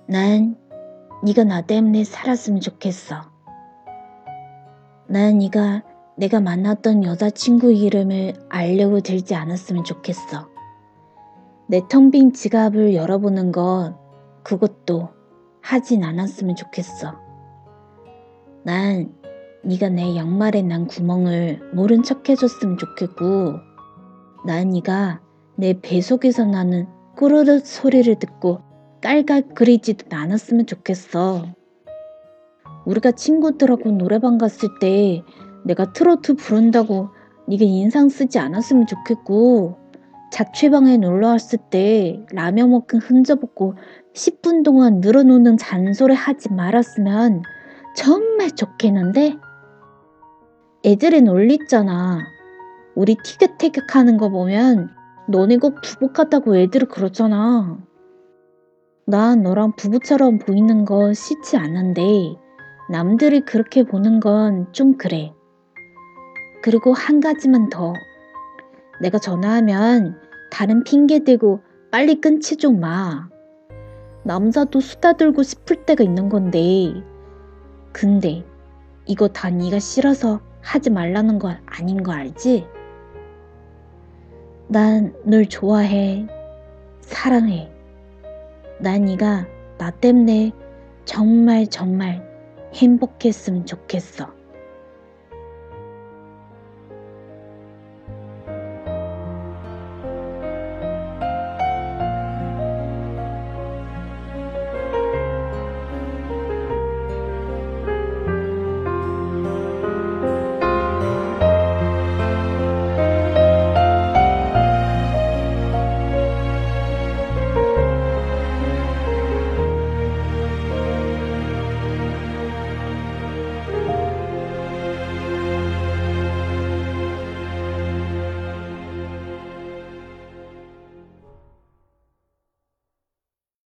난 네가 나 때문에 살았으면 좋겠어. 난 네가 내가 만났던 여자친구 이름을 알려고 들지 않았으면 좋겠어. 내 텅 빈 지갑을 열어보는 것, 그것도 하진 않았으면 좋겠어. 난 네가 내 양말에 난 구멍을 모른 척 해줬으면 좋겠고, 난 네가 내 배 속에서 나는 꾸르륵 소리를 듣고 깔깔거리지도 않았으면 좋겠어. 우리가 친구들하고 노래방 갔을 때 내가 트로트 부른다고 네가 인상 쓰지 않았으면 좋겠고, 자취방에 놀러 왔을 때 라면 먹은 흔적없고 10분 동안 늘어놓는 잔소리 하지 말았으면 정말 좋겠는데? 애들이 놀리잖아. 우리 티격태격 하는 거 보면 너네 꼭 부부 같다고 애들이 그러잖아. 난 너랑 부부처럼 보이는 거 싫지 않은데 남들이 그렇게 보는 건 좀 그래. 그리고 한 가지만 더. 내가 전화하면 다른 핑계 대고 빨리 끊지 좀 마. 남자도 수다 들고 싶을 때가 있는 건데. 근데 이거 다 네가 싫어서 하지 말라는 건 아닌 거 알지? 난 널 좋아해. 사랑해. 난 네가 나 때문에 정말 정말 행복했으면 좋겠어.